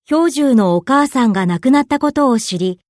氷柱のお母さんが亡くなったことを知り、